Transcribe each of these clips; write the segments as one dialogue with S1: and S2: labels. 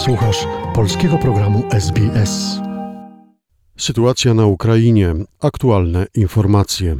S1: Słuchasz polskiego programu SBS. Sytuacja na Ukrainie. Aktualne informacje.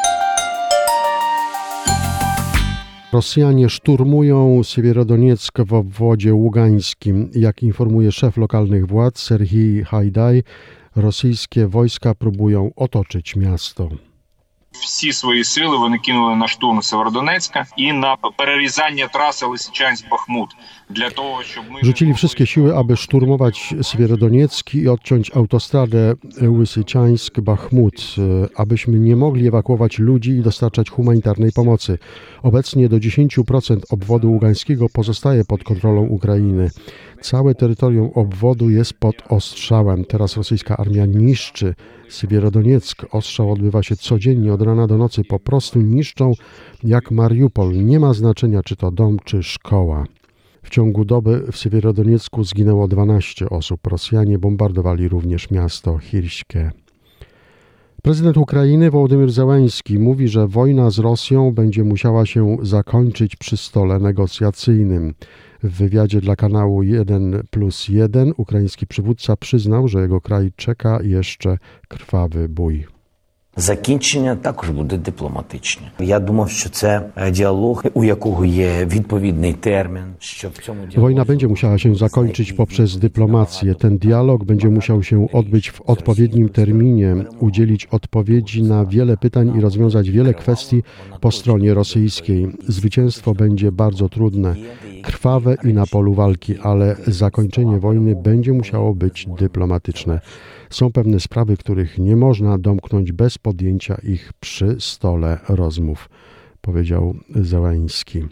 S1: Rosjanie szturmują Siewierodonieck w obwodzie ługańskim. Jak informuje szef lokalnych władz Serhii Hajdaj, rosyjskie wojska próbują otoczyć miasto.
S2: Всі свої сили вони кинули на штурм Сєвєродонецька і на перерізання траси Лисичанськ-Бахмут.
S1: Rzucili wszystkie siły, aby szturmować Siewierodonieck i odciąć autostradę Lysyczańsk-Bachmut, abyśmy nie mogli ewakuować ludzi i dostarczać humanitarnej pomocy. Obecnie do 10% obwodu ługańskiego pozostaje pod kontrolą Ukrainy. Całe terytorium obwodu jest pod ostrzałem. Teraz rosyjska armia niszczy Siewierodonieck. Ostrzał odbywa się codziennie od rana do nocy. Po prostu niszczą jak Mariupol. Nie ma znaczenia, czy to dom, czy szkoła. W ciągu doby w Siewierodoniecku zginęło 12 osób. Rosjanie bombardowali również miasto Chirskie. Prezydent Ukrainy Wołodymyr Zełenski mówi, że wojna z Rosją będzie musiała się zakończyć przy stole negocjacyjnym. W wywiadzie dla kanału 1+1 ukraiński przywódca przyznał, że jego kraj czeka jeszcze krwawy bój.
S3: Закінчення також буде дипломатичне. Я думав, що це діалог, у якого є відповідний термін, що в цьому діалозі...
S1: Wojna będzie musiała się zakończyć poprzez dyplomację. Ten dialog będzie musiał się odbyć w odpowiednim terminie, udzielić odpowiedzi na wiele pytań i rozwiązać wiele kwestii po stronie rosyjskiej. Zwycięstwo będzie bardzo trudne, krwawe i na polu walki, ale zakończenie wojny będzie musiało być dyplomatyczne. Są pewne sprawy, których nie można domknąć bez podjęcia ich przy stole rozmów, powiedział Zełenski.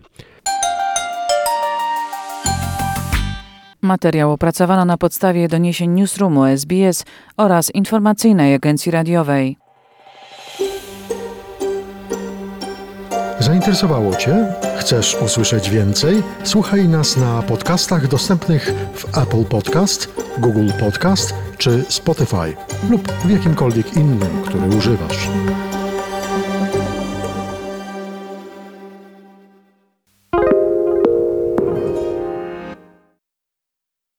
S4: Materiał opracowano na podstawie doniesień Newsroomu SBS oraz informacyjnej agencji radiowej.
S1: Zainteresowało Cię? Chcesz usłyszeć więcej? Słuchaj nas na podcastach dostępnych w Apple Podcast, Google Podcast czy Spotify lub w jakimkolwiek innym, który używasz.